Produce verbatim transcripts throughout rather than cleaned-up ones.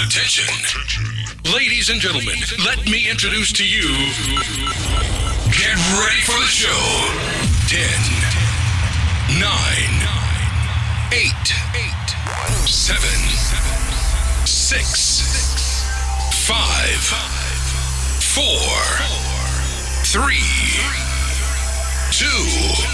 Attention. Attention. Ladies and gentlemen, let me introduce to you. Get ready for the show. ten, nine, eight, seven, six, five, four, three, two,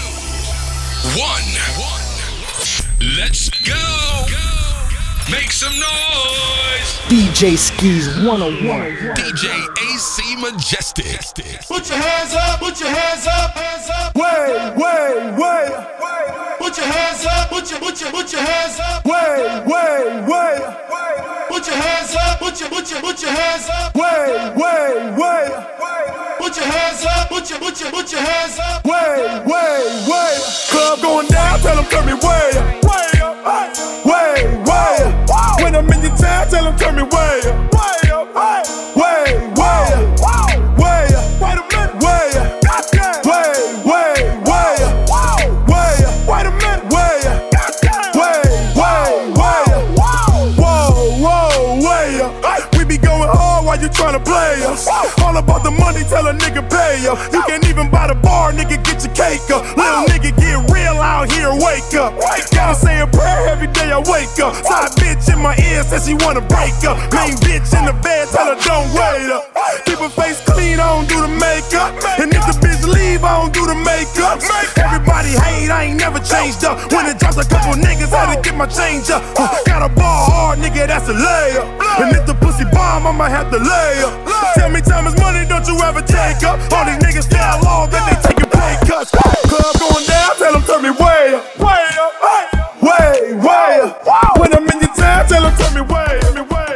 one. Let's go! Make some noise! D J Skis one oh one. D J A C Majestic. Put your hands up, put your hands up, hands up. Way, way, way. Put your hands up, put your, put your, put your hands up. Way, way, way. Put your hands up, put your, put your, put your hands up. Way, way, way. Put your hands up, put your, put your, put your hands up. Way, way, way. Club going down, tell them turn me way up. Way up, way, way up. When I'm in your town, tell them turn me way up. Way up, way, way up. Way up, wait a minute. Way up, way, way, way up. Way up, wait a minute. Way up, way, way, way up. Whoa, whoa, way up. We be going hard while you tryna play us. All about the money, tell a nigga pay up. You can't even buy the bar, nigga, get your cake up. Little nigga get real out here, wake up. Gotta say a prayer every day I wake up. Side bitch in my ear says she wanna break up. Main bitch in the bed, tell her don't wait up. Keep her face clean, I don't do the makeup. And if the bitch leave, I don't do the makeup. Everybody hate, I ain't never changed up. When it drops a couple niggas, had to get my change up. Uh, got a ball hard, nigga, that's a layup. And if the pussy bomb, I might have to lay up. Tell me time is money, don't you ever take up. All these niggas style law, then they taking pay cuts. Club going down, tell them turn me way up. Way up, way, way up. When I'm in your town, tell them turn me way, turn me way.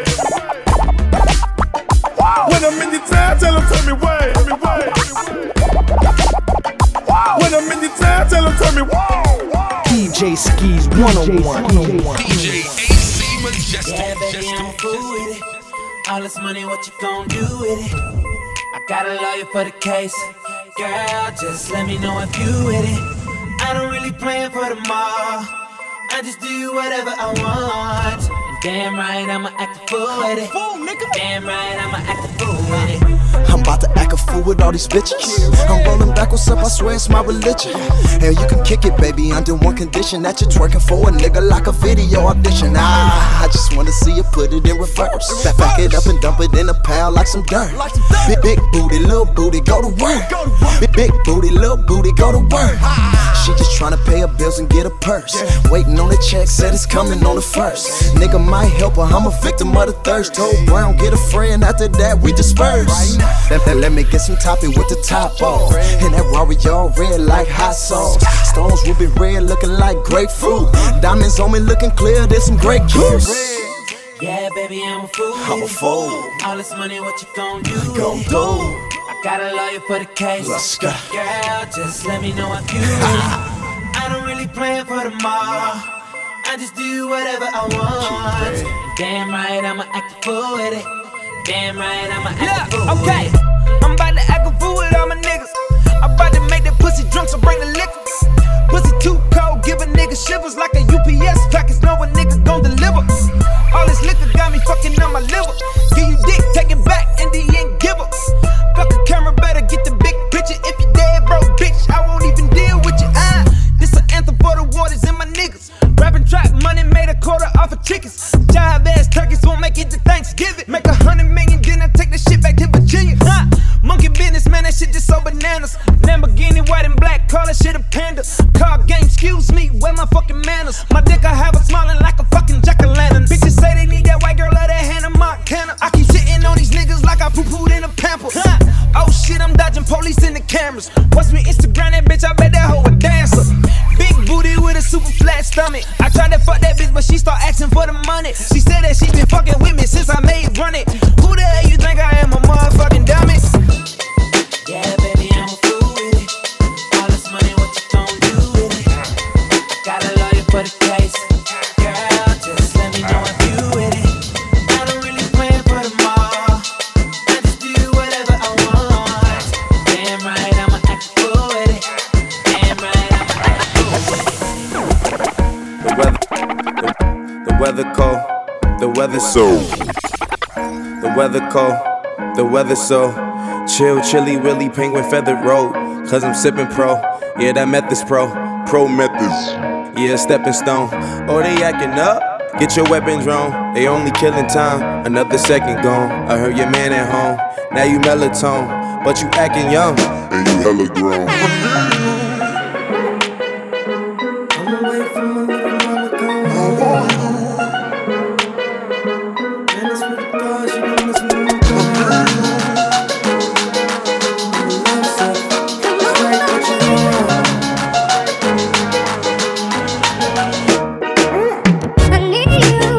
When I'm in your town, tell them turn me way, turn me way. When I'm in your town, tell them turn me way. D J Skis one oh one. D J A C Majestic. Yeah, baby, I'm a fool with it. All this money, what you gon' do with it? I got a lawyer for the case. Girl, just let me know if you with it. I don't really plan for tomorrow. I just do whatever I want. And damn right, I'ma act a fool with it. Damn right, I'ma act a fool with it. I'm about to act a fool with all these bitches. I'm rolling backwards up, I swear it's my religion. And you can kick it, baby, under one condition. That you're twerking for a nigga like a video audition. Ah, I just wanna see you put it in reverse. Back, back it up and dump it in a pile like some dirt. Big, big booty, little booty, go to work. Big, big booty, little booty, go to work. She just tryna pay her bills and get a purse. Waiting on the check, said it's coming on the first. Nigga might help her, I'm a victim of the thirst. Told Brown, get a friend, after that we disperse. Let, let, let me get some topping with the top off. And that Rari all red like hot sauce. Stones will be red looking like grapefruit. Diamonds on me looking clear, there's some great juice. Yeah, baby, I'm a fool. I'm a fool. All this money, what you gon' do? Gon' do. I got a lawyer for the case. Let's go. Girl, just let me know if you with it. I don't really plan for tomorrow. I just do whatever I want. And damn right, I'ma act a fool with it. Damn right, I'ma act yeah, a fool okay. with it. I'm about to act a fool with all my niggas. I'm about to make that pussy drunk, so bring the liquor. Pussy too cold, give a nigga shivers like a U P S package. Know a nigga gon' deliver. All this liquor got me fucking on my liver. Give you dick, take it back, and the end give up. Fuck a camera, better get the big picture. If you dead broke, bitch, I won't even deal with you. Ah, this an anthem for the waters and my niggas. Rapping trap money, made a quarter off of chickens. Jive ass turkeys won't make it to Thanksgiving. Make a hundred million, then I take the shit back to Virginia. Ah, monkey business, man, that shit just so bananas. Lamborghini, white and black, call that shit a panda. Car game, excuse me, where my fucking manners? My dick, I have her smiling like a fucking jack-o'-lantern. Bitches say they need that white girl or that Hannah Montana. I keep sitting on these niggas like I poo-pooed in a pamper. Ah, oh shit, I'm dodging police in the cameras. Watch me Instagram that bitch, I bet that hoe a dancer. Big booty with a super flat stomach. I tried to fuck that bitch, but she start asking for the money. She said that she been fucking with me since I made run it. Who the hell you think I am, a motherfucking dummy? Yeah, baby, I'm a fool with it. All this money, what you gon' do with it? Got a lawyer for the case. Girl, just let me know if you with it. I don't really plan for tomorrow. I just do whatever I want. Damn right, I'ma act a fool with it. Damn right, I'ma act a fool with it. The weather, the, the weather cold, the weather so. The weather cold, the weather so chill, chilly, willy, penguin feathered road. Cause I'm sipping pro, yeah, that method's pro, pro methods. Yeah, stepping stone. Oh, they acting up? Get your weapon drawn. They only killing time, another second gone. I heard your man at home, now you melatonin, but you acting young, and you hella grown. I'm away from my little mama gone. And it's with the God, she gon' miss me when I'm gone. Love stuff, it's right what you want. I need you,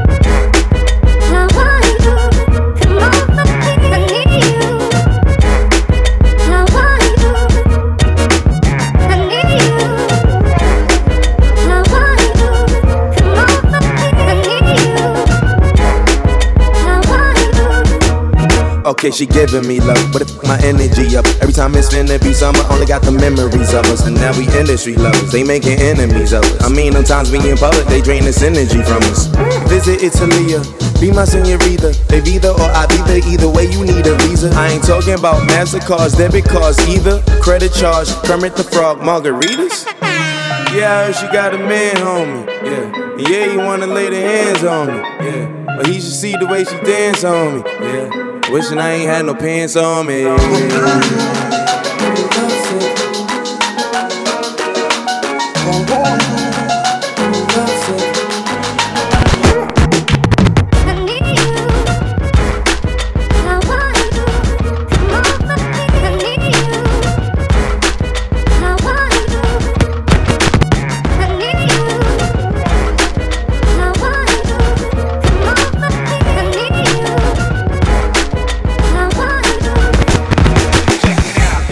I want you, come on, I need you, I want you, I need you, I want you, come on, I need you, I want you. Okay, she giving me love, but it f- my energy up. Every time it's finna be summer, only got the memories of us. And now we industry lovers, they making enemies of us. I mean, sometimes we in public, they drain this energy from us. Visit Italia, be my senorita. If either or I be there, either way you need a visa. I ain't talking about MasterCards, debit cards either. Credit charge, Kermit the Frog, margaritas. Yeah, I heard she got a man, homie. Yeah, yeah, you wanna lay the hands on me. Yeah, but he should see the way she dance on me. Yeah, wishing I ain't had no pants on me. I need you, I want you, come on, I need you, I want you, I need you, I want you, come on, I need you, I want you. Check it out.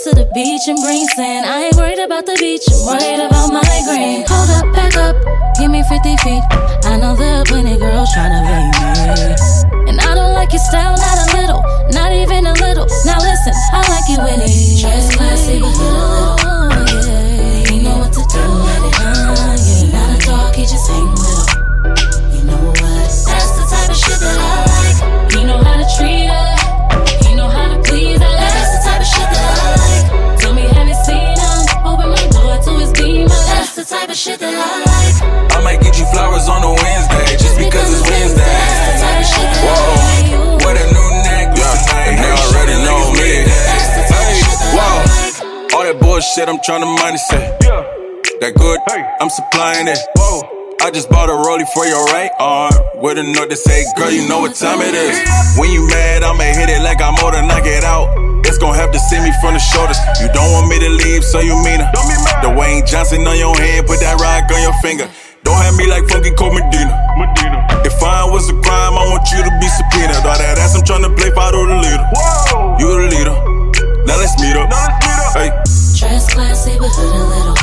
to the beach and bring sand. I ain't worried about the beach, I'm worried about migraine. Hold up, back up, give me fifty feet. I know there are plenty girls tryna bang me. And I don't like your style, not a little, not even a little. Now listen, I like it when it dress classy, but hit a little. Yeah, you know what to do with it. Uh, yeah, not a dog, he just hang with him. You know what? That's the type of shit that I like. He know how to treat her. He know how to please her. That's the type of shit that I like. Tell me, have you seen him? Open my door to his beamer. That's the type of shit that I like. I might get you flowers on a Wednesday, just because it's Wednesday. That's the type of shit that I like. Whoa, what a new necklace tonight. And they already know me. Hey, whoa, all that bullshit I'm tryna money say. That good, I'm supplying it. Whoa. I just bought a rollie for your right arm with a note that say, girl, you know what time it is. When you mad, I'ma hit it like I'm older, knock it out. It's gon' have to see me from the shoulders. You don't want me to leave, so you mean it. The Wayne Johnson on your head, put that rock on your finger. Don't have me like funky Cold Medina. If fine was a crime, I want you to be subpoenaed. All that ass I'm tryna play, follow the leader. You the leader, now let's meet up. Hey. Dress classy, but hood a little.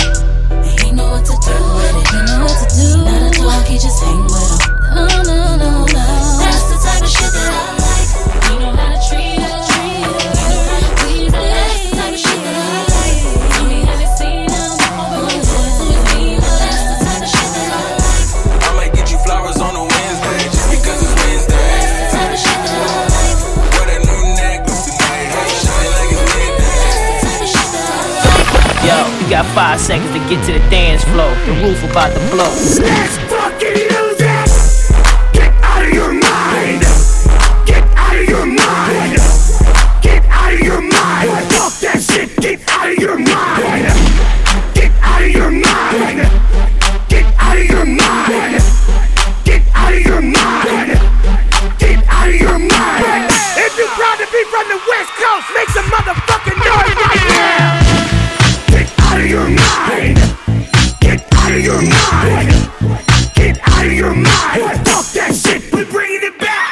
He know what to do with it. He know what to do. Not a dog, he just hang with him. No, no, no, no. That's the type of shit that I like. He know how to treat her. Treat her. He know how to please her. That's the type of shit that I like. Tell me, have you seen him? Open my door to his beamer. That's the type of shit that I like. I might get you flowers on a Wednesday, just because it's Wednesday. That's the type of shit that I like. Wear that new necklace tonight, hey, shine like it's midday. That's the type of shit that I like. Yo, you got five seconds to get to the dance floor. The roof about to blow. Let's fucking use it! Get out of your mind! Get out of your mind! Get out of your mind! Fuck that shit! Get out of your mind! Get out of your mind! Get out of your mind! Get out of your mind! Get out of your mind! If you're proud to be from the West Coast, make some motherfucking noise right now! Get out of your mind! Get out of your mind! Get out of your mind! Fuck that shit! We're bringing it back!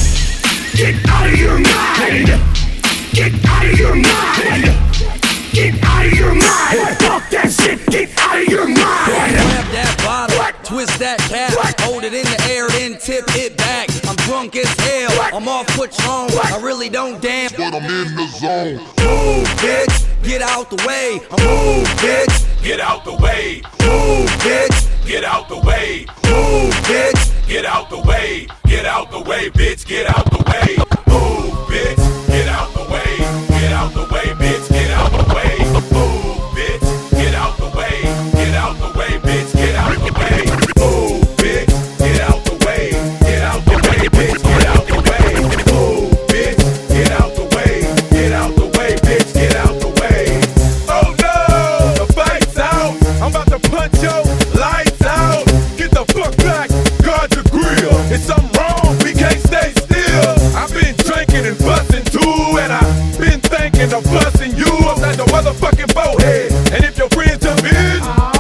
Get out of your mind! Get out of your mind! Get out of your mind! Fuck that shit! Get out of your mind! Grab that bottle, What? twist that cap, What? hold it in the air, then tip it back. I'm drunk as hell, What? I'm off Patron, What? I really don't dance, But I'm in the zone. move, bitch, get out the way. I'm move, bitch, Get out the way. move, bitch, Get out the way. move, bitch. Get out the way. Get out the way, bitch. Get out the way. Move, bitch. Get out the way. Get out the way, bitch. Get out the way. Move, bitch. Get out the way. Get out the way, bitch. Get out the way. Move, bitch. Get out the way. Get out the way, bitch. Get out the way. Move, bitch. Get out the way. Get out the way, bitch. Get out the way. Oh no! The fight's out! I'm about to punch your lights out! Get the fuck back! Guard the grill! It's something wrong, we can't stay still! I've been drinking and busting too, and I've been thinking of busting you upside the motherfucking boathead! And if your friends jump in,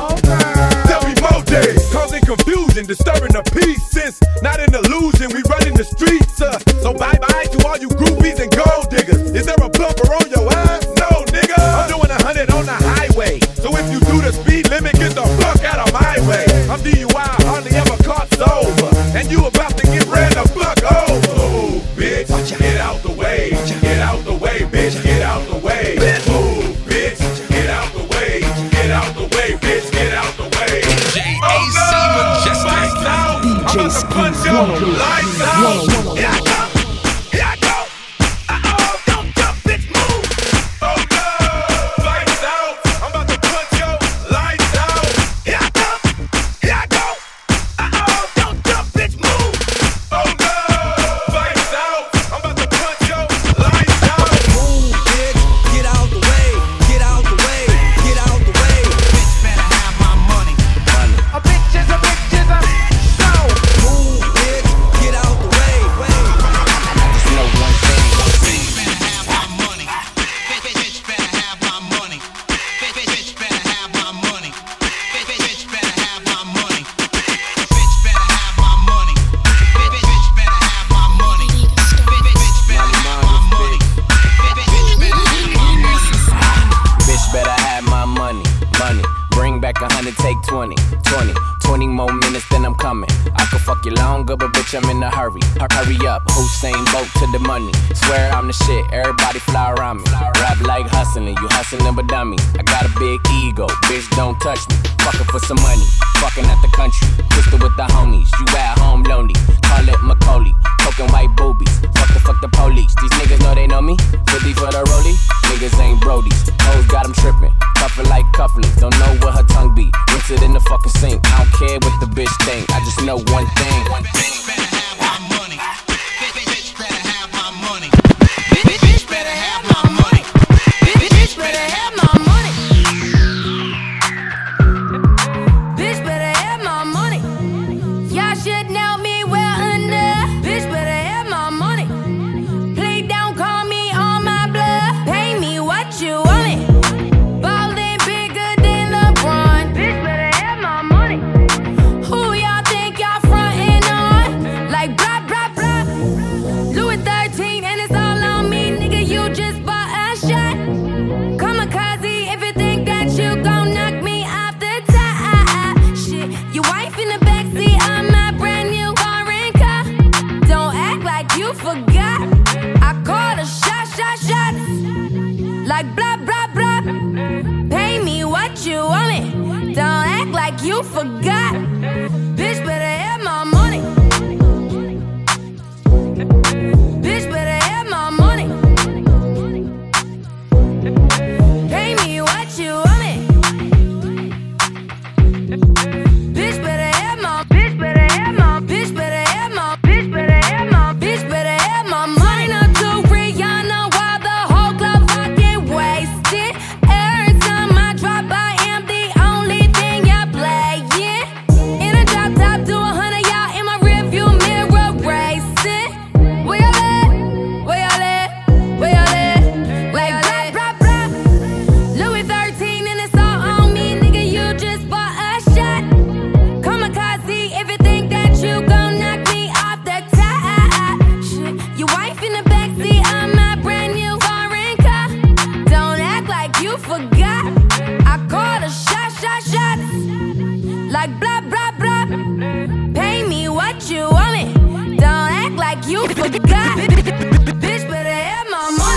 tell me more days! Causing confusion, disturbing the peace, since not an illusion, we running the streets, uh, so bye bye to all you groupies and gold diggers! Is there a bumper on your ass? No, nigga! I'm doing a hundred on the highway. So if you do the speed limit, get the fuck out of my way. I'm D U I, hardly ever caught sober. And you about to get ran the fuck over. Move, bitch. Get out the way. Get out the way, bitch. Get out the way. Move, bitch. Get out the way. Get out the way, bitch. Get out the way. D J A C Majestic. Lights out! I'm about to punch your lights out! Here I go! Here I go! Uh-oh! Don't jump, bitch, move! Oh no! Lights out! I'm about to punch your lights out! Here I go! Here I go! Uh-oh! Don't jump, bitch, move! Oh no! Lights out! I'm about to punch your lights out! Move, bitch, get out the way, get out the way, get out the way. Bitch better have my money. A bitch is a bitch is a so. Move, bitch, get out the way. twenty, twenty more minutes, then I'm coming. I could fuck you longer, but bitch, I'm in a hurry. Hurry up, Hussein Bolt to the money. Swear I'm the shit, everybody fly around me. Rap like hustling, you hustling but dummy. I got a big ego, bitch, don't touch me. Fucking for some money, fucking at the country. Twisted with the homies, you at home lonely. Call it Macaulay, poking white boobies. Fuck the fuck the police, these niggas know they know me. fifty for the rollie, niggas ain't brodies. Hoes got them tripping, cuffin' like cufflinks. Don't know what her tongue be, rinse it in the fucking sink. I don't care what the bitch think, I just know one thing. One thing. You forgot, bitch better have my money. Bitch better have my money. Pay me what you want me. Bitch better have my, bitch better have my, bitch better have my, bitch better have my, bitch better have my money. Up to Rihanna while the whole club fucking wasted. Every time I drop, I am the only thing y'all play. In a drop top to a hundred, y'all in my rearview mirror racing. Where y'all at? Where y'all at? Where y'all at? Like blah blah blah. Louis thirteen and it's all on me, nigga. You just bought a shot. Kamikaze if you think that you gon' knock me off the top. Shit, your wife in the backseat of my brand new foreign car. Don't act like you forgot. I called a shot, shot, shots. Like blah blah blah. Pay me what you want me. Don't act like you forgot. Bitch better have my money.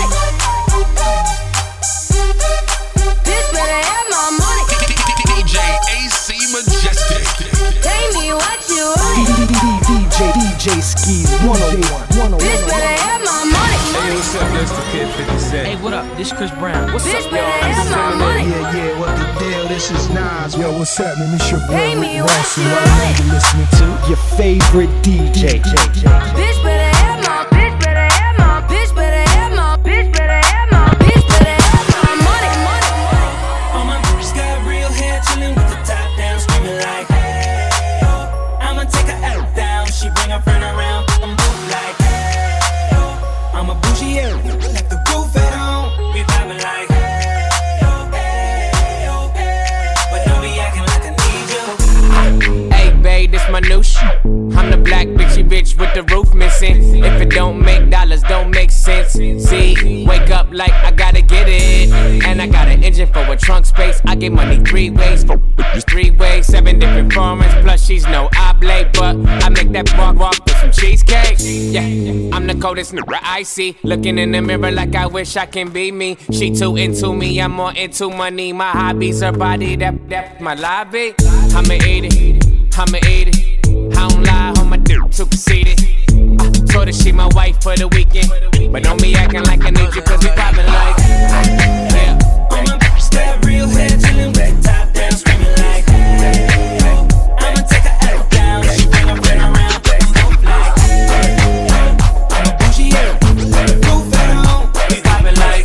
Bitch better have my money. D J A C Majestic. Pay me what you want me. D J D J Skis one oh one. Bitch better have my money. Hey, what's up? That's the Kid fifty Cent. Hey, what up? This Chris Brown. What's Bitch up, better y'all? have my money. Yeah, yeah, what the deal? This is Nas. Yo, what's happening? It's your boy Pay me Rick what Ross, you and right want now me. you're listening to your favorite D J. Bitch better have my, bitch better have my, bitch better have my, bitch better have my, bitch better have my money, money, money. All my bitches got real hair, chillin' with the top down, screaming like, hey, oh. I'ma take her out down, she bring her friend around, I'm both like, hey, oh. I'm a bougie area, like the roof at home, we vibing like, hey, oh, hey, oh, hey. But don't be acting like I need you. Hey, babe, this my new shit. I'm the black bitchy bitch with the roof missing. If it don't make dollars, don't make sense. See, wake up like I gotta get it. And I got an engine for a trunk space. I get money three ways for three ways, seven different formats. Plus, she's no oblate, but I make that walk walk with some cheesecake. Yeah, I'm the coldest nigga I see. Looking in the mirror like I wish I can be me. She too into me, I'm more into money. My hobbies, her body, that that my lobby. I'ma eat it, I'ma eat it. I don't lie, on my dick, too conceited. I told her she my wife for the weekend. But don't be acting like I need you, cause we poppin' like, yeah. All my bitches got real hair, chillin' with the top down, screaming like, hey, oh. I'ma take her out down, she bring her friend around, I'm both like, hey, oh. I'm a bougie area, roof at home, We poppin' like,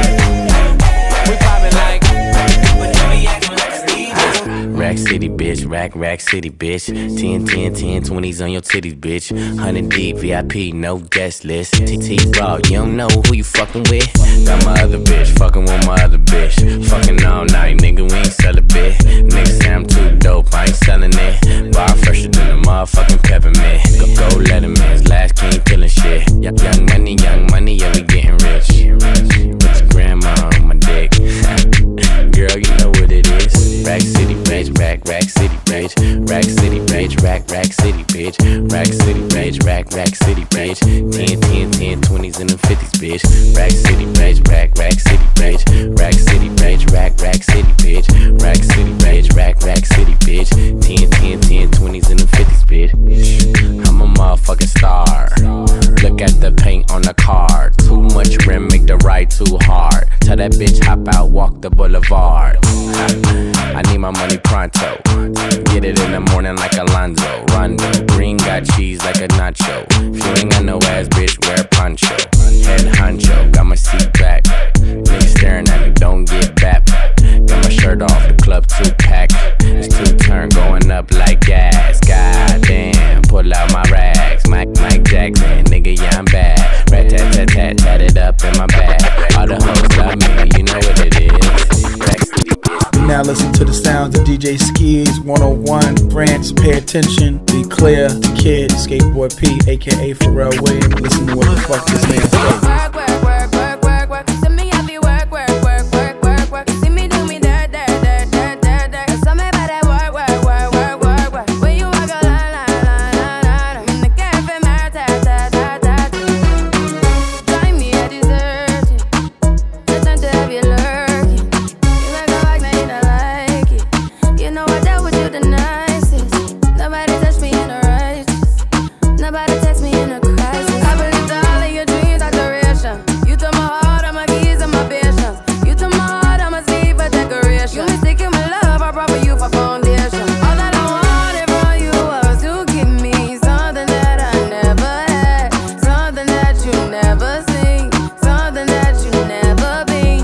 we poppin' like, but don't be acting like I need you. Rack City, bitch, rack, rack city, bitch. ten, ten, ten, twenties on your titties, bitch. one hundred deep, V I P, no guest list. T T Raw, you don't know who you fucking with. Got my other bitch, fucking with my other bitch. Fucking all night, nigga, we ain't sell a bit. Nigga say I'm too dope, I ain't selling it. Bar fresher than a motherfucking peppermint. Go, go Letterman's last king killing shit. Y- young money, young money, yeah, we getting rich. With your grandma on my dick. Girl, you know what it is. Rack City, bitch, rack, rack city, bitch. bitch. Rack City, bitch. Rack, Rack City, bitch. Rack City, bitch. Rack, Rack City, bitch. ten, ten, ten, twenties and them fifties, bitch. Rack City, bitch. Rack, Rack City, bitch. Rack City, bitch. Rack, Rack City, bitch. Rack City, bitch. Rack, Rack City, bitch. ten, ten, ten, twenties and them fifties, bitch. I'm a motherfucking star. Look at the paint on the car. Too much rim, make the ride too hard. Tell that bitch hop out, walk the boulevard. I need my money pronto. Get it in the morning like Alonzo. Rondo. Green got cheese like a nacho. If you ain't got no ass, bitch, wear poncho. Head honcho, got my seat back. Niggas staring at me, don't get back. Got my shirt off, the club two pack. It's two turn going up like gas. Goddamn, pull out my rags. Mike, Mike Jackson, nigga, yeah, I'm bad. Rat tat tat tat, tat it up in my bag. All the hoes love me, you know what it is. Rack City, bitch. Now listen to the sounds of D J Skis, one oh one, Branch, Pay Attention, Be Clear, The Kid, Skateboard P, aka Pharrell Williams. Listen to what the fuck this man says. Work, work, work, work, work, work. To me, I be work, work, work, work, work, work. See me do me dirt, dirt, dirt, dirt, dirt, dirt. Tell me about that work, work, work, work, work, work. When you walk a line, line, line, line, line. In the cafe, my ta, ta, ta, ta. Join me, I desert you. No time to have you lurking. You make a like, now you don't like it. You know I dealt with you the nicest. Nobody touched me in a righteous. Nobody text me in a crisis. I believed all of your dreams are duration. You took my heart, all my keys, and my patience. You took my heart, I must leave for decoration. You mistaken my love, I brought for you for foundation. All that I wanted from you was to give me something that I never had, something that you never seen, something that you never been.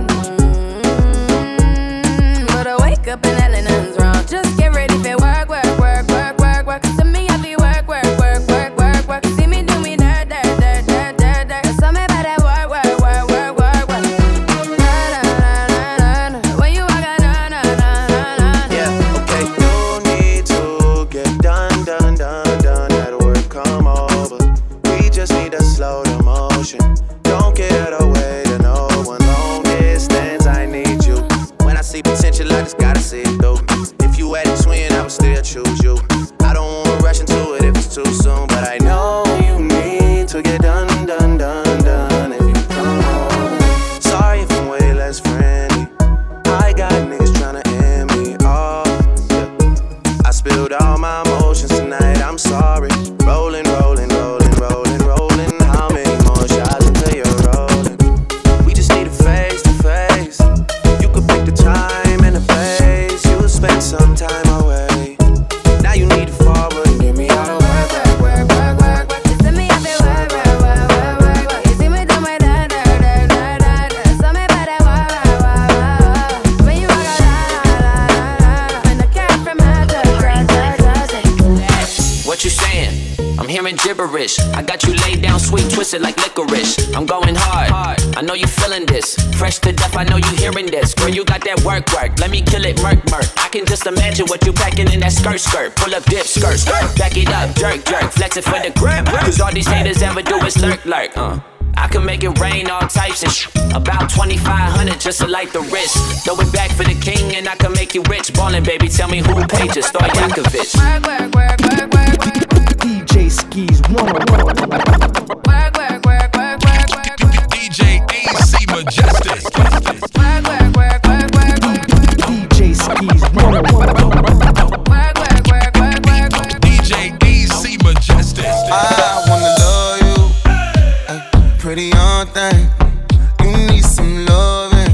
Mm-hmm. But I wake up and hell nothing's wrong. Just get ready for work, work, work, work, work, work. To me, I be work, work, work, work, work, work. See me do me dirt, dirt, dirt, dirt, dirt, dirt. Tell me about that work, work, work, work, work, work. Na, na, na, na, na. When you walk out, na, na, na, na, na. Yeah, okay. No need to get done, done, done, done. That work come over. We just need to slow the motion. Don't get away to no one. Long distance, I need you. When I see potential, I just gotta see it through. If you had a twin, I would still choose you. I don't wanna rush into it if it's too soon, but I know you need to get done, done, done, done. If you come over, sorry if I'm way less friendly. I got niggas tryna end me off. Yeah. I spilled all my emotions tonight. I'm sorry. Rolling, rolling, rolling, rolling, rolling. How many more shots until you're rolling? We just need a face to face. You could pick the time and the place. You'll spend some time away. Now you need to forward and get me out of work, work, work, work, work, work. To me, I be work, work, work, work, work, work. You see me do my dirt, dirt, dirt, dirt, dirt, dirt. Tell me about that work, work, work, work, work. When you walk out, la, la, la, la. When the cat from my dirt, dirt, dirt, dirt. What you saying? I'm hearing gibberish. I got you laid down, sweet, twisted like licorice. I'm going hard. I know you feeling this. Fresh to death, I know you hearing this. Girl, you got that work, work. Let me kill it, murk, murk. I can just imagine what you packing in that skirt, skirt. Pull up, dip, skirt, skirt. Back it up, jerk, jerk. Flex it for the grip. Cause all these haters ever do is lurk, lurk. Uh. I can make it rain, all types of sh. About twenty-five hundred just to light the wrist. Throw it back for the king and I can make you rich. Ballin', baby, tell me who paid you. Stojakovic. Work, work, work, work, work, work. D J Skis, one oh one. Work, work, work, work, work, work, work. D J A C Majestic. Work, work, work, work, work, work. D J Skis, one oh one. Work, work, work, work, work, work. D J A C Majestic. I wanna love you, ay, pretty young thing. You need some loving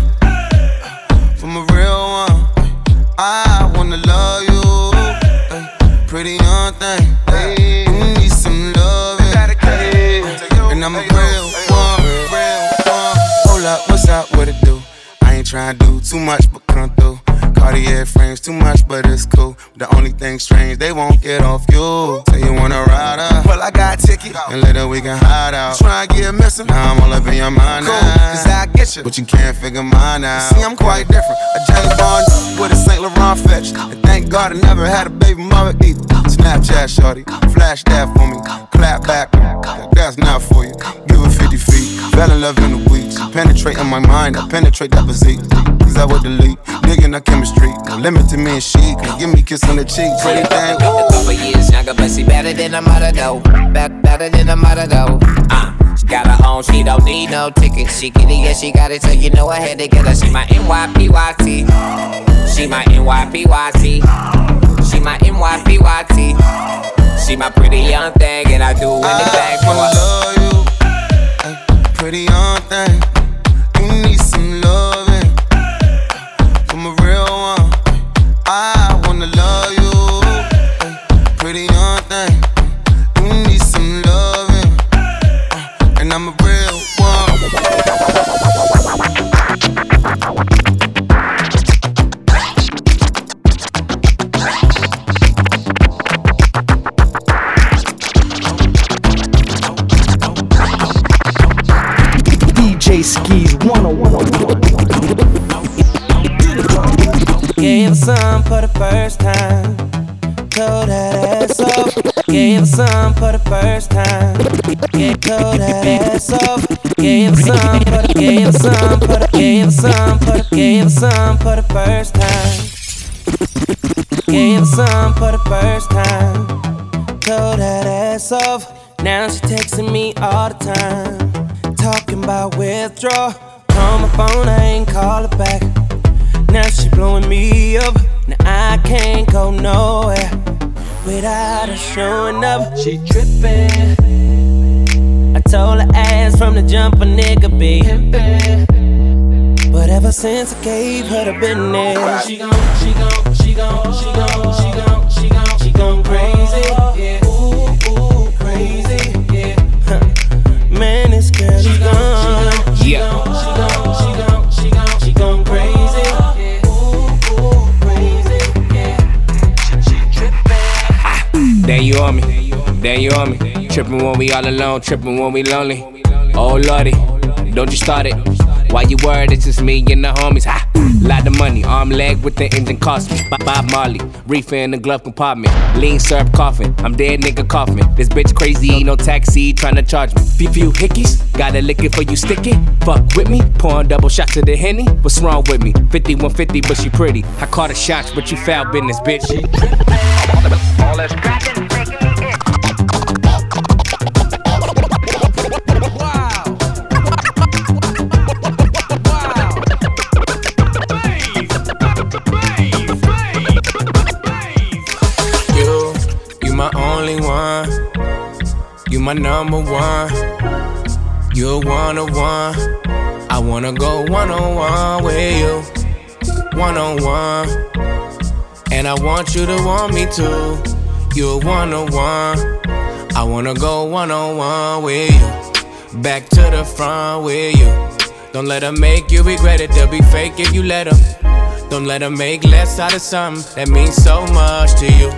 from a real one. I wanna love you, ay, pretty young thing. Ay, you need some loving, ay, and I'm a real one, real one. Hold up, what's up? What it do? I ain't tryna do too much, but come through. Cartier frames too much, but it's cool. The only thing strange, they won't get off you. Say you wanna ride up, well I got ticket, and later we can hide out. Try and get missing, now I'm all up in your mind cool, now. Cause I get you, but you can't figure mine out. See, I'm quite different, a James Bond with a Saint Laurent fetch. And thank God I never had a baby mama either. Snapchat shorty, flash that for me, clap back, that's not for you. Give her fifty feet. Fell in love in a week. She penetrating my mind, I penetrate that physique. Cause I would delete, digging our chemistry. No limit to me and she. Can give me a kiss on the cheek. Pretty thing. A couple years younger, but she better than a mother though. Be- better than a mother though. Uh. She got her own, she don't need no ticket. She get it, yeah, she got it, so you know I had to get her. She my N Y P Y T. She my N Y P Y T. She my N Y P Y T. She my pretty young thing, and I do anything for her. I love you, ay, pretty young thing. You need some loving from a real one. I wanna love you, ay, pretty young thing. You need some loving, and I'm a real one. D J Skis one oh one. Gave her some for the first time. Told that ass off. Gave her some for the first time. Gave, told that ass off. Gave her some for the. Gave her some for the. Gave her some for the. Gave her some for the first time. Gave her some for the first time. Told that ass off. Now she texting me all the time, talking about withdrawal. On my phone, I ain't call her back. Now she blowing me up. Now I can't go nowhere without her showing up. She trippin'. I told her ass from the jump a nigga be pimpin'. But ever since I gave her the business, she gon', she gon', she gon', she gon', she gon', she gon', she gon' crazy. Yeah, ooh, ooh, crazy. Yeah, huh. Man, this girl is gone. Yeah. She gon', she gon', she gon', she gon' crazy. Yeah, ooh, ooh, crazy. Yeah, she, she trippin'. Then you on me, then you on me. Trippin' when we all alone, trippin' when we lonely. Oh lordy, don't you start it. Why you worried? It's just me and the homies. Ha! Lot of money, arm leg with the engine cost me. Bob Marley, reefer in the glove compartment. Lean syrup coughing, I'm dead nigga coughing. This bitch crazy, no taxi, tryna charge me. Few few hickeys, gotta lick it for you stick it. Fuck with me, pouring double shots of the Henny. What's wrong with me? fifty-one fifty, but she pretty. I caught her shots, but you foul business, bitch. All that scratching, making me itch. My only one, you my number one. You're one on one. I wanna go one on one with you, one on one. And I want you to want me too. You're one on one. I wanna go one on one with you, back to the front with you. Don't let her make you regret it. They'll be fake if you let them. Don't let her make less out of something that means so much to you.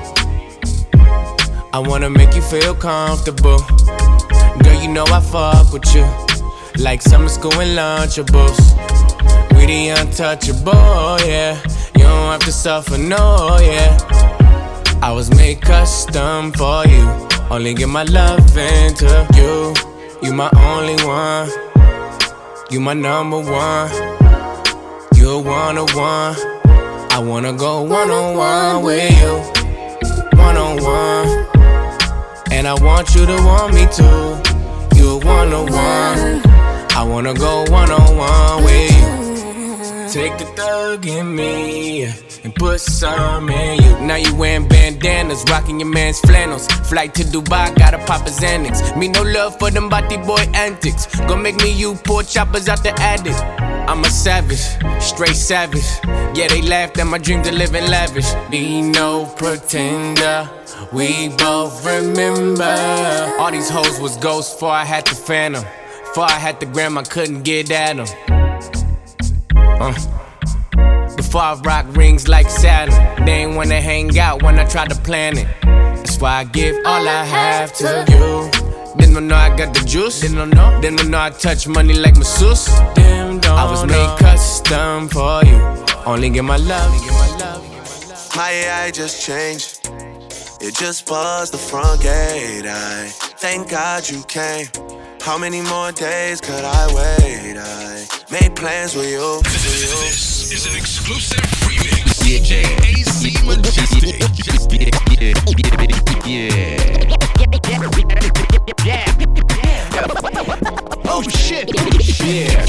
I wanna make you feel comfortable. Girl, you know I fuck with you like summer school and Lunchables. We the untouchable, yeah. You don't have to suffer, no, yeah. I was made custom for you. Only give my love into you. You my only one. You my number one. You're one on one. I wanna go one on one with you, one on one. And I want you to want me too. You're one on one. I wanna go one on one with you. Take the thug in me and put some in you. Now you wearing bandanas, rocking your man's flannels. Flight to Dubai, gotta pop his Xanax. Me no love for them body boy antics. Gon' make me you poor choppers out the attic. I'm a savage, straight savage. Yeah, they laughed at my dream to live in lavish. Be no pretender, we both remember. All these hoes was ghosts before I had the phantom. Before I had the gram, I couldn't get at them. Uh. Before I rock rings like Saturn, they ain't wanna hang out when I try to plan it. That's why I give all I have to you. Didn't know I got the juice. Didn't know. Didn't know I touch money like masseuse. Damn, don't I was made custom for you. Only give my love. My A I just changed. It just buzzed the front gate. I thank God you came. How many more days could I wait? I made plans with you. This is an exclusive remix. D J A C Majestic. Yeah. Oh shit. Yeah.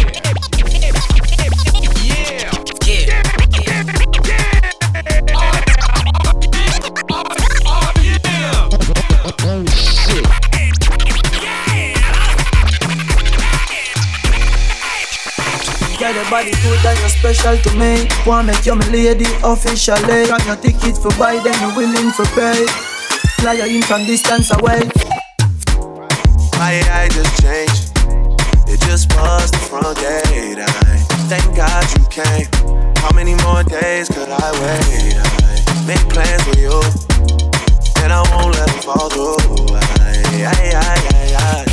Yeah. Oh shit. Girl, your body good and you're special to me. Wanna make you my lady officially. Got your ticket for buy, then you're willing for pay. Fly you in from distance away. My A I just changed. It just was the front gate. I thank God you came. How many more days could I wait? I make plans with you, and I won't let them fall through. I, I, I, I, I.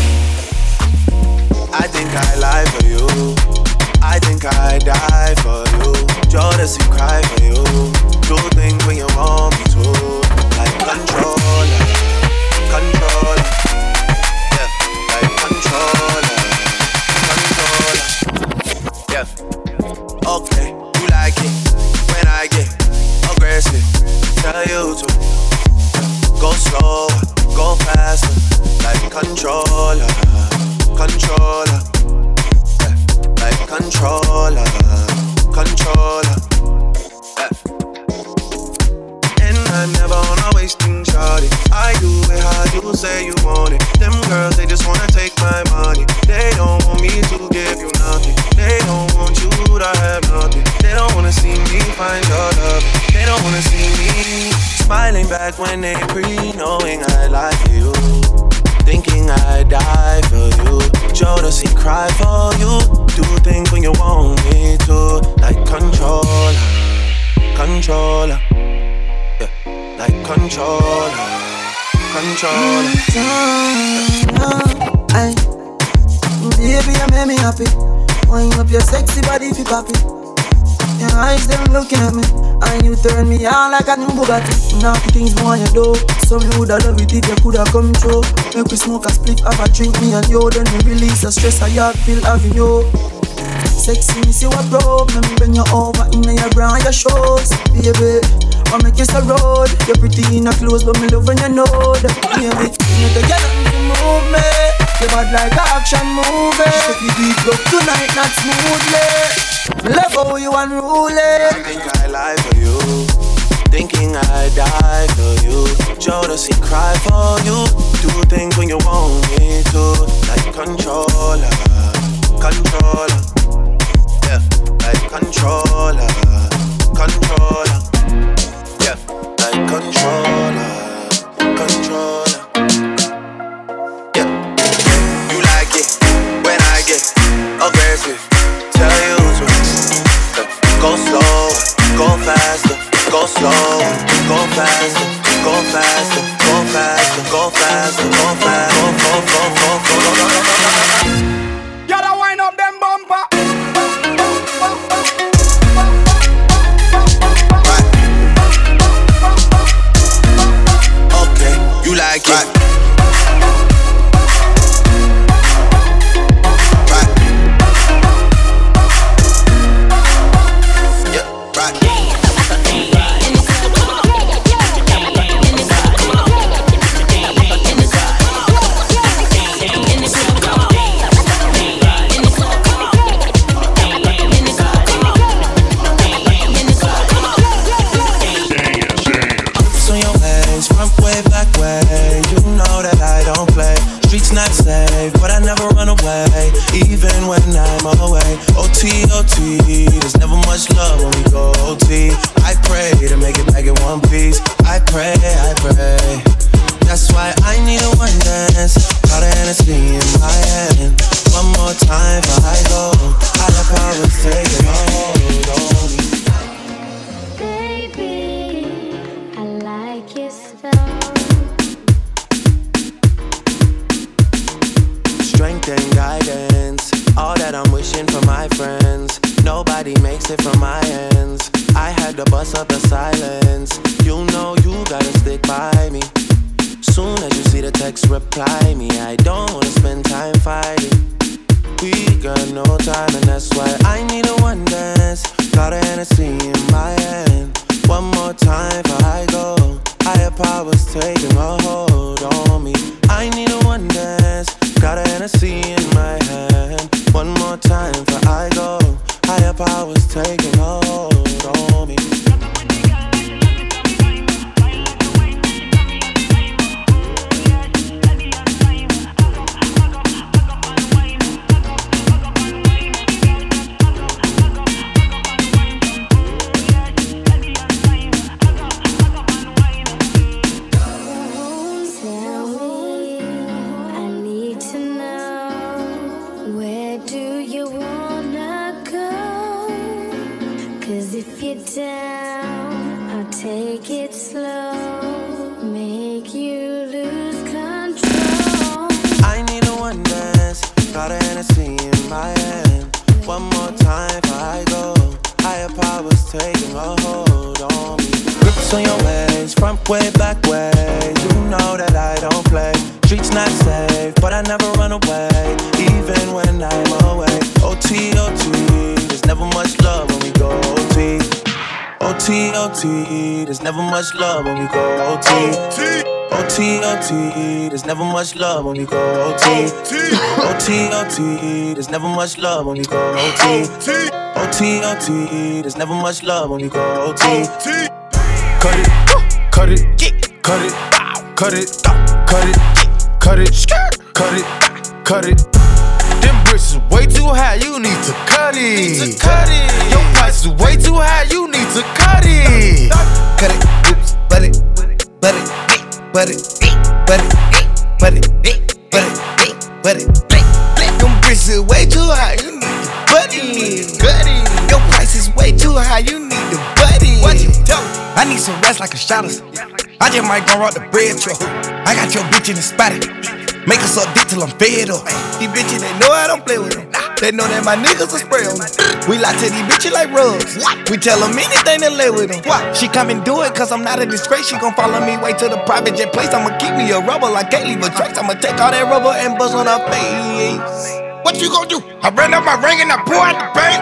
I think I lie for you. I think I die for you. Jodeci cry for you. Do things when you want me to. Like controller, controller. Yeah, like controller, controller. Yeah, okay, you like it when I get aggressive. Tell you to go slower, go faster. Like controller, controller. Like controller, controller, yeah. And I'm never on a wasting shawty. I do it how you say you want it. Them girls, they just wanna take my money. They don't want me to give you nothing. They don't want you to have nothing. They don't wanna see me find your love. They don't wanna see me smiling back when they pre knowing I lie for you. Thinking I die for you. Jodeci cry for you. Do things when you want me to. Like controller, controller. Yeah, like controller, controller. Ay, baby, you make me happy. Wind up your sexy body fi pop it. Your eyes them looking at me, and you turn me on like a new Bugatti. Now the things more you do, so me woulda love it if you coulda come through. Make we smoke a split, have a drink, me and you. Then we release the stress I have feel having you. Sexy, me see what broke, me bring you over in your bra and your shoes, baby. I make you so road, you're pretty in a clothes, but me love when you know that, baby. You need to get on to move me, you bad like an action movie. Take the beat up tonight, not smoothly. Love how you unruly. I think I lie for you. Thinking I die for you. Jodeci cry for you. Do things when you want me to. Like controller, controller. Yeah, like controller, controller. Yeah, like controller, controller. Yeah, you like it when I get aggressive. Tell you to go slow, go faster, go slow, go faster, go faster, go faster, go faster, go faster, go, go, go, go, go, go, go. Gotta wind up them bumper. Right. Okay, you like it. Right. Not safe, but I never run away, even when I'm away. O T, O T, there's never much love when we go O T. I pray to make it back in one piece. I pray, I pray. That's why I need a one dance. Got a Hennessy in my hand. One more time before I go. Higher powers take it hold on me. Baby, I like your style. Strength and guidance, all that I'm wishing for my friends. Nobody makes it from my ends. I had to bust up the silence. You know you gotta stick by me. Soon as you see the text, reply me. I don't wanna spend time fighting. We got no time, and that's why I need a one dance. Got a Hennessy in my hand. One more time before I go. Higher powers taking a hold on me. I need a one dance. Got a Hennessy in my hand. One more time before I go. Higher powers taking a hold on me. Down, I'll take it slow, make you lose control. I need a one dance, got a Hennessy in my hand. One more time before I go. Higher powers taking a hold on me. Grips on your ways, front way, back way. You know that I don't play. Streets not safe, but I never run away, even when I'm away. O T, O T, there's never much love when we go O T. O T, O T, there's never much love when we go O T. O T, O T, there's never much love when we go O T. O T, O T, there's never much love when we go O T. O T, O T, there's never much love when we go O T. Cut it, cut it, cut it, cut it, cut it, cut it, cut it, cut it. Them bricks is way too high, you need to cut it. Cut it. Your price is way too high, you need to cut it. Cut it, oops, butt it, butt it, butt it, butt it, butt it, butt it, butt it. Them bricks is way too high, you need to butt it. Cut it. Your price is way too high, you need to butt it. What you tell me? I need some rest like a shotters. I just might gon' rock the bread truck. I got your bitch in the spotty. Make us up dick till I'm fed up. These bitches, they know I don't play with them. They know that my niggas will spray on me. We lie to these bitches like rugs. We tell them anything to lay with them. She come and do it cause I'm not a disgrace. She gon' follow me way to the private jet place. I'ma keep me a rubber, I can't leave a trace. I'ma take all that rubber and buzz on her face. What you gon' do? I ran up my ring and I pour out the bank.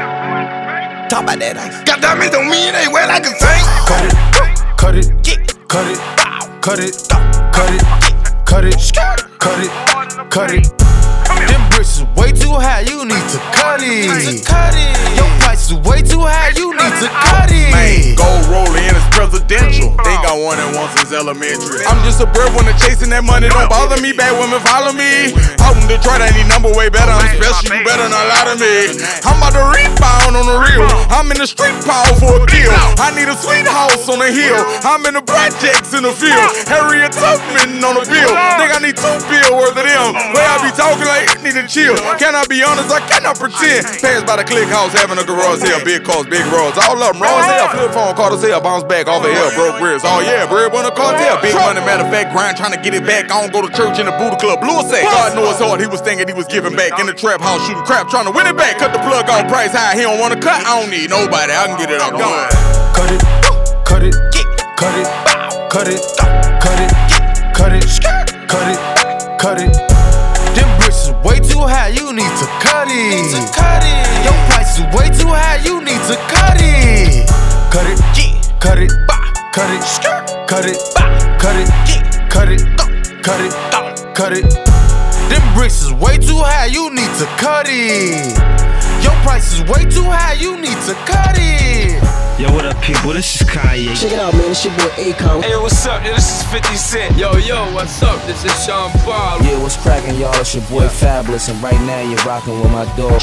Talk about that ice. Got diamonds on me and they wet like a saint. Cut it, cut it, cut it, cut it, cut it, cut it, cut it, cut it. Them bricks is way too high, you need to cut it. Cut it. Your price is way too high, you need to cut it. Man, gold rolling in is presidential. Think I won it once since elementary. I'm just a bird when they're chasing that money. Don't bother me, bad women follow me. Out in Detroit, I need number way better. I'm special, you better not lie to me. I'm about to rebound on the real. I'm in the street power for a kill. I need a sweet house on the hill. I'm in the projects in the field. Harriet Tubman on the bill. Think I need two bill worth of them. Way I be talking like it need to chill. Can I be honest? I cannot pretend. Pass by the click house having a garage sale. Big cars, big roads. All of them raw as hell. Flip phone, call to sale. Bounce back off of hell. Broke bricks. Oh yeah, bread when a cartel. Big money, matter of fact, grind trying to get it back. I don't go to church in the Buddha Club. Blue sack. God knows hard. He was thinking he was giving back. In the trap house shooting crap. Trying to win it back. Cut the plug off price high. He don't want to cut. I don't need nobody. I can get it off. Gone. Cut it, cut it, cut it, cut it, cut it, cut it, cut it, cut it. Them bricks is way too high, you need to cut it. Cut it. Your price is way too high, you need to cut it. Cut it, cut it, cut it, cut it, cut it, cut it, cut it, cut it. Them bricks is way too high, you need to cut it. Your price is way too high, you need to cut it. Yo, what up, people? This is Kanye. Check it out, man. It's your boy Akon. Hey, what's up? Yo, this is fifty Cent. Yo, yo, what's up? This is Sean Paul. Yeah, what's cracking, y'all? It's your boy Fabulous, and right now you're rocking with my dog.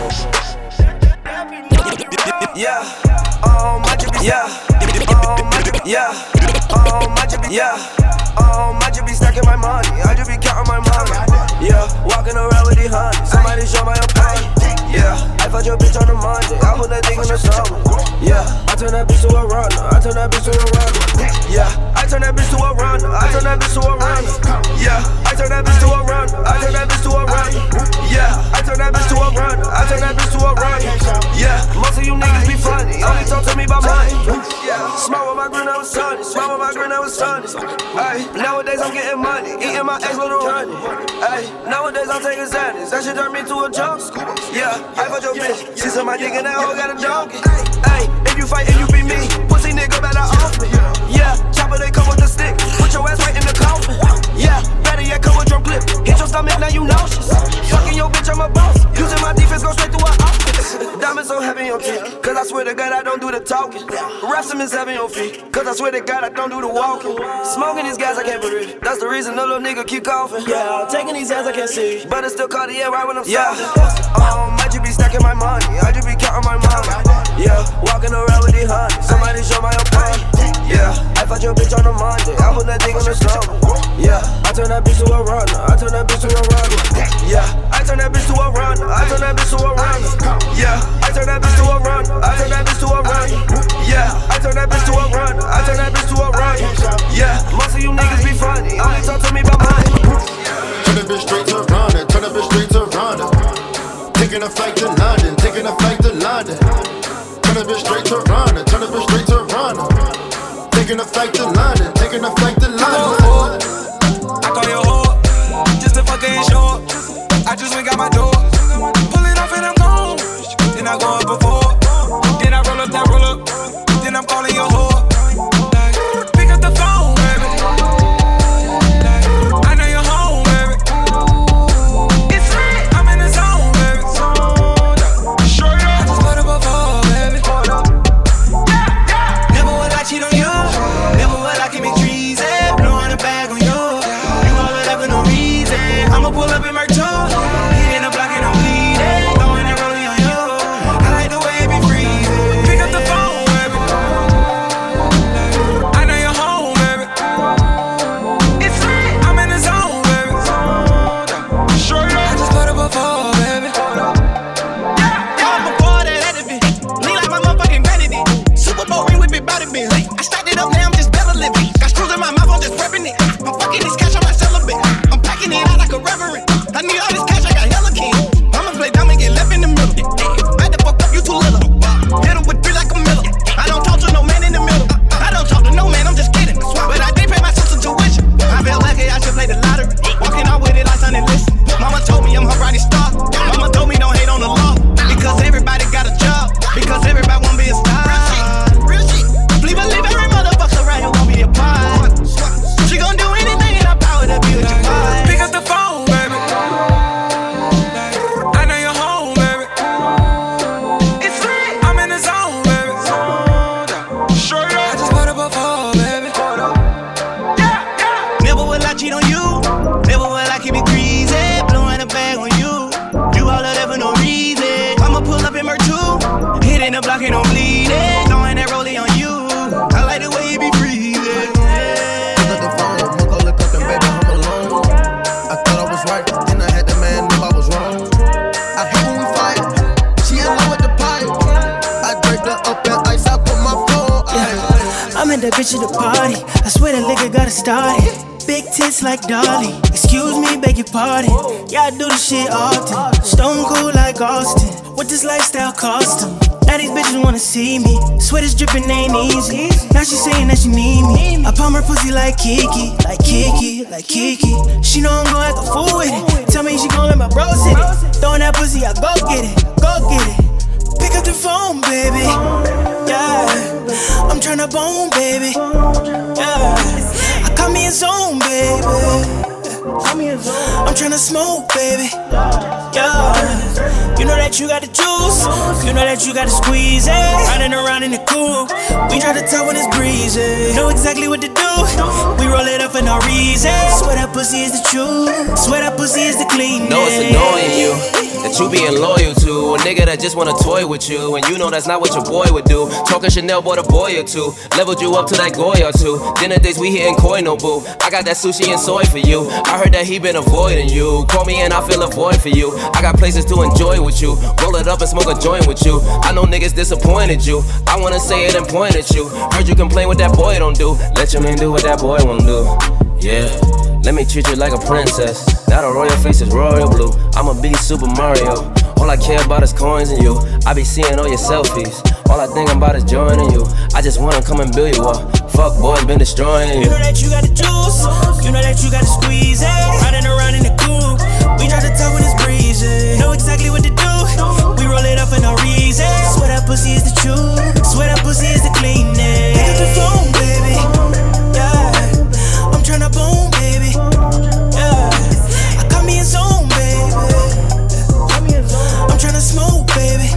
Yeah, oh my jibby, yeah, oh my jibby, yeah, oh my jibby, yeah, oh my jibby stacking my money, I just be counting my money. Yeah, walking around with the honey, somebody show my opinion. Yeah, I fucked your bitch on the Monday, I put that thing in the summer. Yeah, I turn that bitch to a runner, I turn that bitch to a runner. Yeah, I turn that bitch to a runner, I turn that bitch to a runner. Yeah, I turn that bitch to a runner, I turn that bitch to a runner. Yeah, I turn that bitch to a runner, I turn that bitch to a runner. Yeah, most of you niggas be funny, only talk to me about money. Yeah, smile with my grin, I was sunny. Smile with my grin, I was sunny. Ay, nowadays I'm getting money, eating my ex little honey. Ay, nowadays I'm taking Xanax, that shit turned me to a junk. Yeah, I fuck your bitch. See some my dick and that hoe got a donkey. Ay, if you fight and you beat me, pussy nigga better off me. Yeah, chopper they come with the stick, put your ass right in the coffin. Yeah, better yet come with your clip. Hit your stomach, now you nauseous. Fucking your bitch, I'm a boss. Using my defense, go straight through her office. Diamonds so heavy on teeth, cause I swear to God I don't do the talking. Rest them is heavy on feet, cause I swear to God I don't do the walking. Smoking these guys I can't breathe, that's the reason the little nigga keep coughing. Yeah, taking these hands I can't see, but it's still Cartier right when I'm yeah. Um, I just be stacking my money, I just be counting my money. Yeah, walking around with these honey, somebody show my opponent. Yeah, I fought your bitch on a Monday, I put that dick on the stomach. Yeah, I turn that bitch to a runner, I turn that bitch to a runner. Yeah, I turn that bitch to a runner, I turn that bitch to a runner. Yeah, I turn that bitch to a runner, I turn that bitch to a runner. Yeah, I turn that bitch to a runner, I turn that bitch to a runner. Yeah, most of you niggas be funny, only talk to me about money. Turn that bitch straight to Rhonda, turn that bitch straight to Rhonda. Taking a flight to London, taking a flight to London. Turn that bitch straight to Rhonda, turn that bitch straight to Rhonda. Taking a flight to London, taking a flight to London. I call your whore, just to fucking short. I just went got my door, pull it off and I'm gone. Then I go up before, then I roll up that roll up, then I'm calling your whore. Like, pick up the phone, baby. Like, I know you're home, baby. It's lit, I'm in the zone, baby. Sure enough, I just put up before, baby. Never would I cheat on you, never would I keep me treason. Blowing a bag on you, you all of that for no reason. I'ma pull up in my toe. Bitch at the party, I swear the liquor got it started. Big tits like Dolly, excuse me, beg your pardon. Yeah, I do this shit often, stone cold like Austin. What this lifestyle cost them? Now these bitches wanna see me, sweat is dripping, ain't easy. Now she saying that she need me, I pump her pussy like Kiki, like Kiki, like Kiki. She know I'm gon' act a fool with it, tell me she gon' let my bros hit it. Throwing that pussy, I go get it, go get it. Pick up the phone, baby, yeah. I'm tryna bone, baby, yeah. I call me a zone, baby. I'm tryna smoke, baby, yeah. You know that you got the juice, you know that you got to squeeze it. Riding around in the coupe, we try to tell when it's breezy. Know exactly what to do, we roll it up for no reason. Swear that pussy is the truth, swear that pussy is the clean. No, it's annoying you that you being loyal to a nigga that just wanna toy with you, and you know that's not what your boy would do. Talking Chanel bought a boy or two, leveled you up to that Goya or two. Dinner days we hitting koi no boo. I got that sushi and soy for you. I heard that he been avoiding you. Call me and I feel a void for you. I got places to enjoy with you. Roll it up and smoke a joint with you. I know niggas disappointed you. I wanna say it and point at you. Heard you complain what that boy don't do. Let your man do what that boy won't do. Yeah. Let me treat you like a princess. Now the royal face is royal blue. I'ma be Super Mario. All I care about is coins and you. I be seeing all your selfies. All I think about is joining you. I just wanna come and build you up. Fuck boys been destroying you. You know that you got the juice. You know that you got to squeeze it. Riding around in the coupe. We try to talk when it's breezy. Know exactly what to do. We roll it up for no reason. Swear that pussy is the truth. Swear that pussy is the cleanest. Pick up the phone, baby. Yeah. I'm tryna boom, baby. Yeah. I got me a zone, baby. I'm tryna smoke, baby.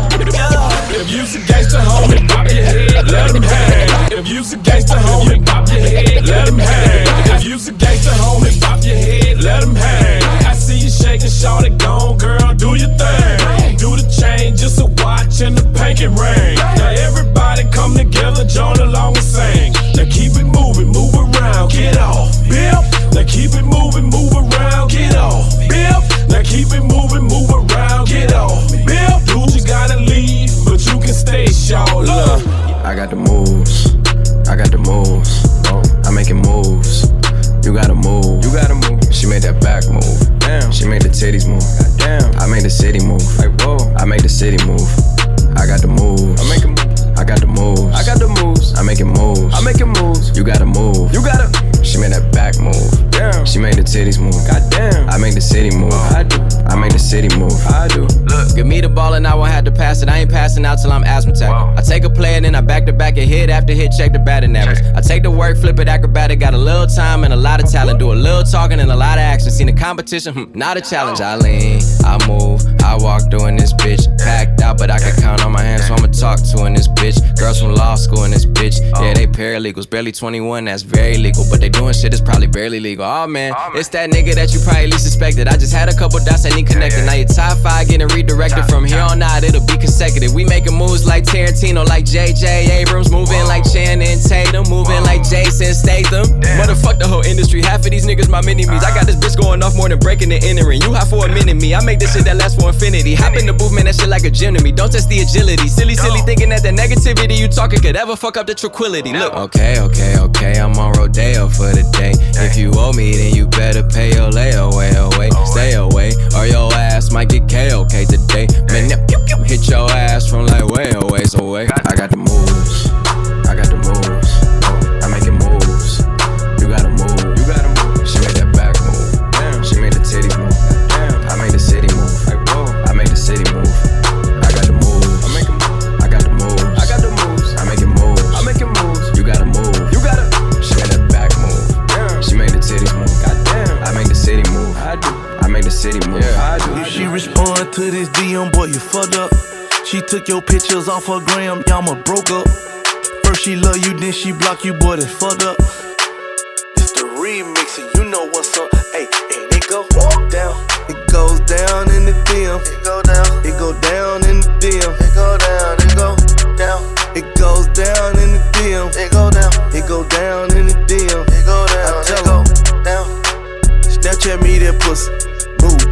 Yeah. If you's a gangsta, homie, pop your head, let him hang. If you's a gangsta, homie, pop your head, let him hang. If you's a gangsta, homie, pop your head, let him hang. I see you shaking, shawty, gone, girl, do your thing. Do the chain, just a watch and the pinky ring. Now everybody come together, join along and sing. Now keep it moving, move around, get off, bip. Now keep it moving, move around, get off, bip. Now keep it moving, move around, get off, bip. Dude, you gotta leave, but you can stay, shawty. Look, I got the moves, I got the moves. I'm making moves. You gotta move, you gotta move. She made that back move. Damn. She made the titties move. Damn. I made the city move. Like whoa. I make the city move. I got the moves. I make 'em. I got the moves. I got the moves. I'm making moves. I'm making moves. You gotta move. You gotta. She made that back move. Damn. She made the titties move. Goddamn. I make the city move. I do. I make the city move. I do. Look, give me the ball and I won't have to pass it. I ain't passing out till I'm asthmatic. I take a play and then I back to back and hit after hit, check the batting average. I take the work, flip it acrobatic. Got a little time and a lot of talent. Do a little talking and a lot of action. Seen the competition, hmm, not a challenge. I lean, I move, I walk through in this bitch. Packed out, but I can count on my hands, so I'ma talk to in this bitch. Girls from law school in this bitch. Yeah, they paralegals, barely twenty-one, that's very legal. But they doing shit that's probably barely legal. Oh man, it's that nigga that you probably least suspected. I just had a couple dots that need connected. Now your top five getting redirected. From here on out, it'll be consecutive. We making moves like Tarantino, like J J Abrams. Moving like Channing Tatum, moving like Jason Statham. Motherfuck the whole industry, half of these niggas my mini-me's. I got this bitch going off more than breaking and entering. You hot for a minute, me. I make this shit that lasts for infinity. Hop in the booth, man, that shit like a gym to me. Don't test the agility. Silly, silly thinking that the negativity you talking could ever fuck up the tranquility. Look, okay, okay, okay, I'm on Rodeo for the day. If you owe me, then you better pay your layaway away. Stay away, or your ass might get K O K today. Man, hit your ass from like way away, so away. I got the moves. I got the moves. I'm making moves. You gotta move. You gotta move. She made that back move. Damn. She made the titties move. Damn. I made the city move. Like whoa. I made the city move. I got the moves. I make 'em. I got the moves. I got the moves. I'm making moves. I'm making moves. You gotta move. You gotta. She made that back move. Damn. She made the titties move. Goddamn. I make the city move. I do. I make the city move. Yeah, I do. If she respond to this D M, boy, you fucked up. She took your pictures off her gram, y'all ma broke up. First she love you, then she block you, boy, that's fucked up. It's the remix and you know what's up. Hey, and it go down. It goes down in the D M. It go down. It go down in the D M. It go down. It go down. It goes down in the D M. It go down. It go down in the D M. It go down. I tell her down. Snapchat me that pussy. Move.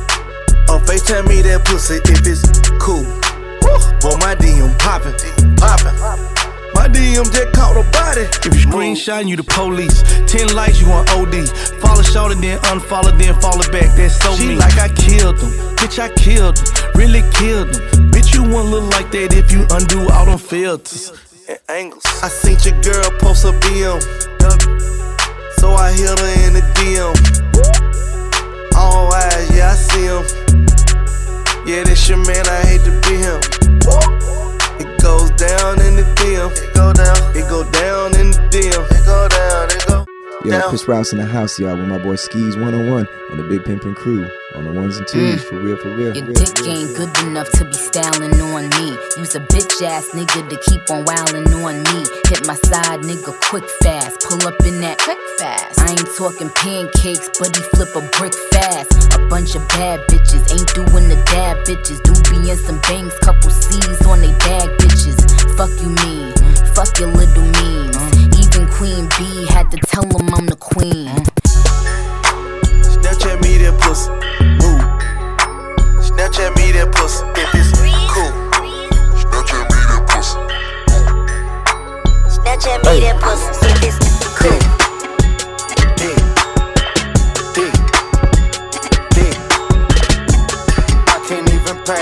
Or FaceTime me that pussy if it's cool. Boy, my D M poppin', poppin'. My D M just caught a body. If you screenshot, you the police. Ten likes, you on O D. Follow short and then unfollow, then follow back. That's so mean. She like I killed them. Bitch, I killed them. Really killed them. Bitch, you won't look like that if you undo all them filters and angles. I seen your girl post a B M. So I hit her in the D M. All eyes, yeah, I see him. Yeah, this your man, I hate to be him. It goes down in the D M. It go down. It go down in the D M. It go down. It go Yo, down. Chris Rouse in the house, y'all, with my boy Skis one oh one and the Big Pimpin' crew on the ones and twos. Mm. For real, for real. Your real, dick real. ain't good enough to be styling on me. Use a bitch ass nigga to keep on wildin' on me. Hit my side nigga quick fast. Pull up in that quick fast. I ain't talking pancakes, but he flip a brick fast. A bunch of bad bitches ain't doing the dab bitches. Do be in some bangs, couple C's on they bag bitches. Fuck you mean, fuck your little memes. Even Queen B had to tell him I'm the queen. Snapchat me that pussy. Move. Snapchat me that pussy if it's cool. Snapchat me that pussy. Snapchat me that pussy if it's cool. Dick. Dick. Dick. I can't even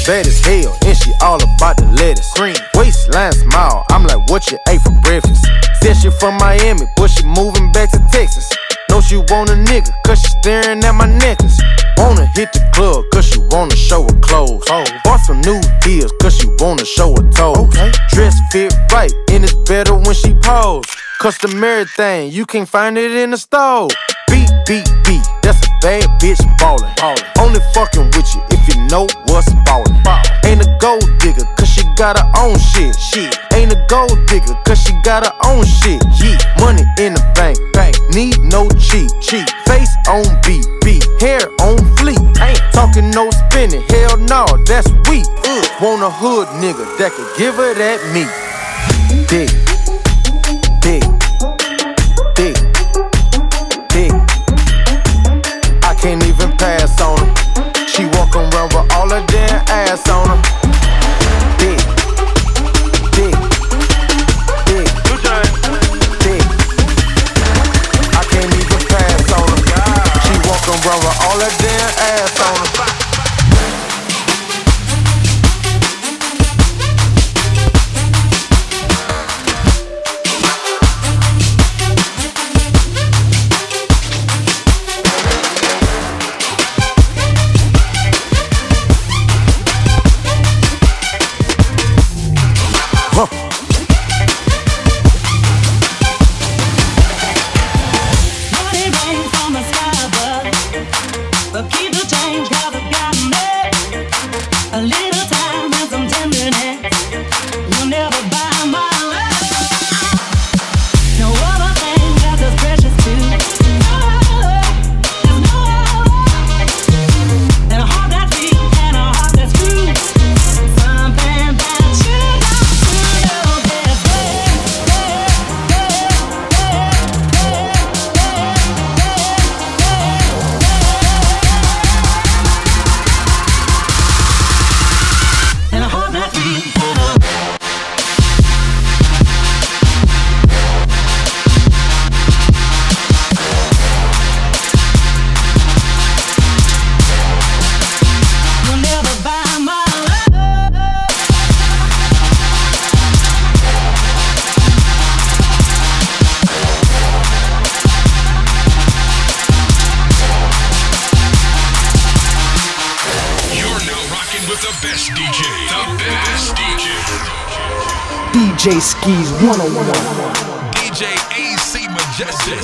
bad as hell, and she all about the lettuce. Green waistline smile, I'm like, what you ate for breakfast? Said she from Miami, but she moving back to Texas. Know she want a nigga, cause she staring at my necklace. Wanna hit the club, cause she wanna show her clothes. Oh. Bought some new heels, cause she wanna show her toes. Okay. Dress fit right, and it's better when she pose. Customary thing, you can't find it in the store. Beat, beat, beat, that's a bad bitch ballin'. ballin'. Only fucking with you if you know what's ballin'. Ball. Ain't a gold digger, cause she got her own shit. shit. Ain't a gold digger, cause she got her own shit. Yeah. Money in the bank, bank. Need no cheat, cheat. Face on beat, beat. Hair on fleek. Ain't talking no spinning, hell no, that's weak. Uh. Want a hood nigga that could give her that meat. Dick, dick, dick, dick. I can't even pass on her. She walk around with all her damn ass on her. Dick, dick, dick, dick. I can't even pass on her. She walk around with all her damn ass on her. D J Skis one oh one. D J A C Majestic.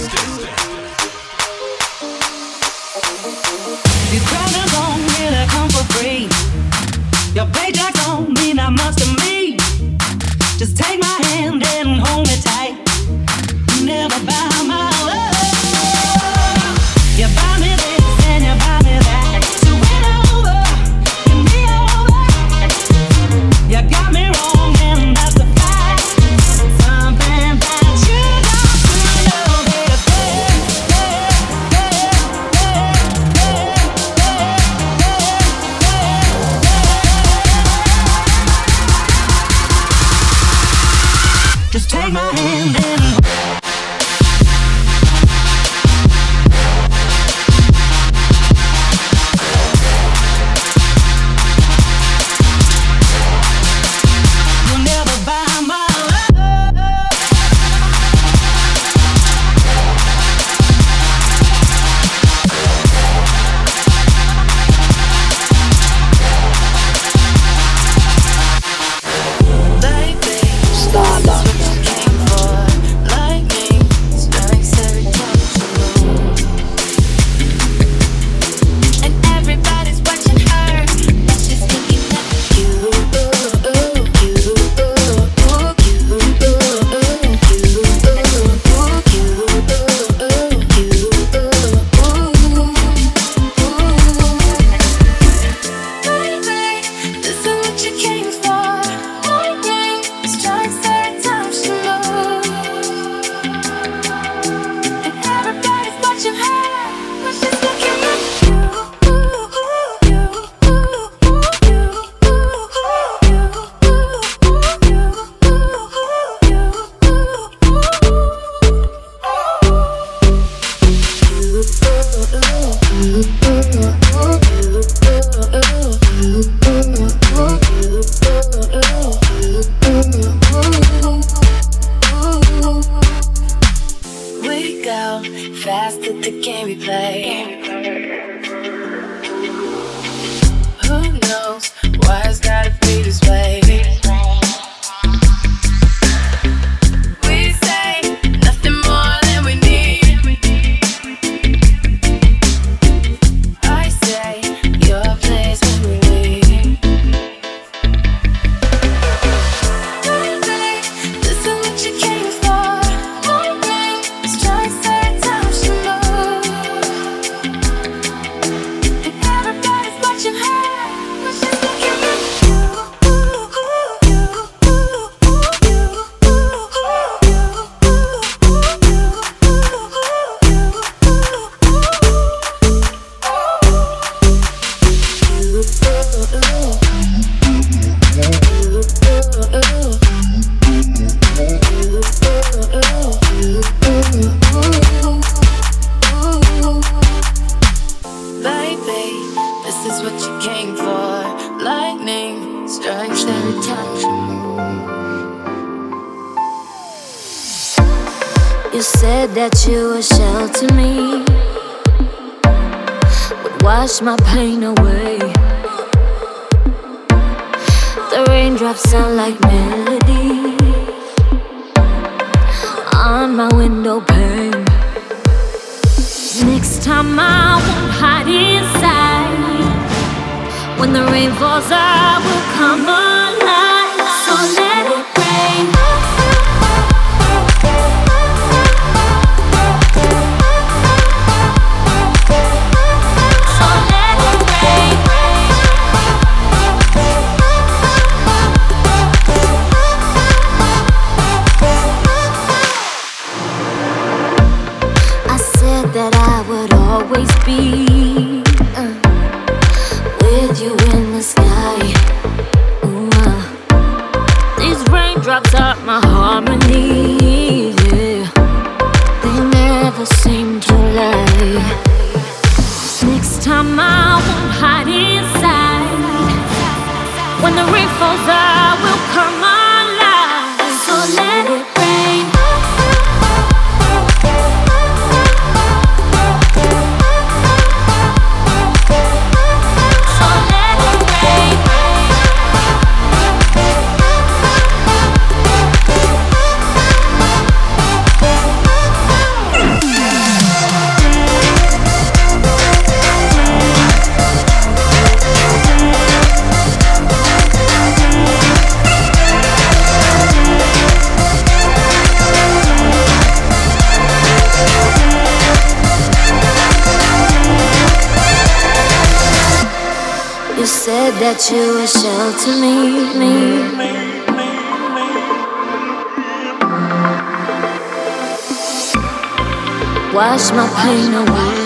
These problems don't really come for free. Your paycheck don't mean that much to me. Just take my hand and hold me tight. You never buy my love. You buy me this and you buy me that. So win over, win me over. You got me wrong and that's the fact. Something that you got to know, baby. Just take my go fast that the game we play. Who knows why it's gotta be this way? We say nothing more than we need. I say your place when we leave. Baby, this is what you came for. Lightning strikes every time she moves. And everybody's watching her. Baby, this is what you came for. Lightning strikes every time you move. You said that you would shelter me, would wash my pain away. The raindrops sound like melody on my window pane. Next time I won't hide inside. When the rain falls, I will come alive. So let it rain. So let it rain. I said that I would always be uh, with you in the sky. Ooh, uh. These raindrops are my harmony. Yeah. They never seem to lie. Next time I won't hide inside. When the rain falls, I will come alive. So let it rain. You said that you would shelter me, me. Wash my pain away.